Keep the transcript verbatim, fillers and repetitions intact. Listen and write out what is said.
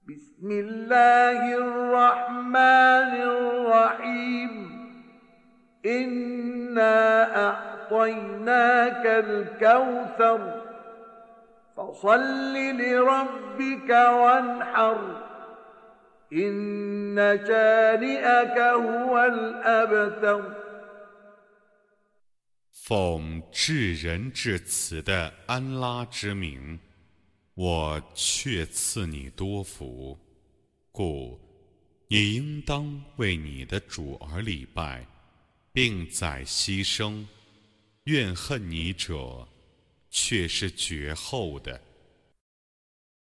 بسم الله الرحمن الرحيم إنا أعطيناك الكوثر فصل لربك وانحر إن شانئك هو الأبتر 奉至仁至慈的安拉之名，我却赐你多福，故你应当为你的主而礼拜，并宰牺牲。怨恨你者，却是绝后的。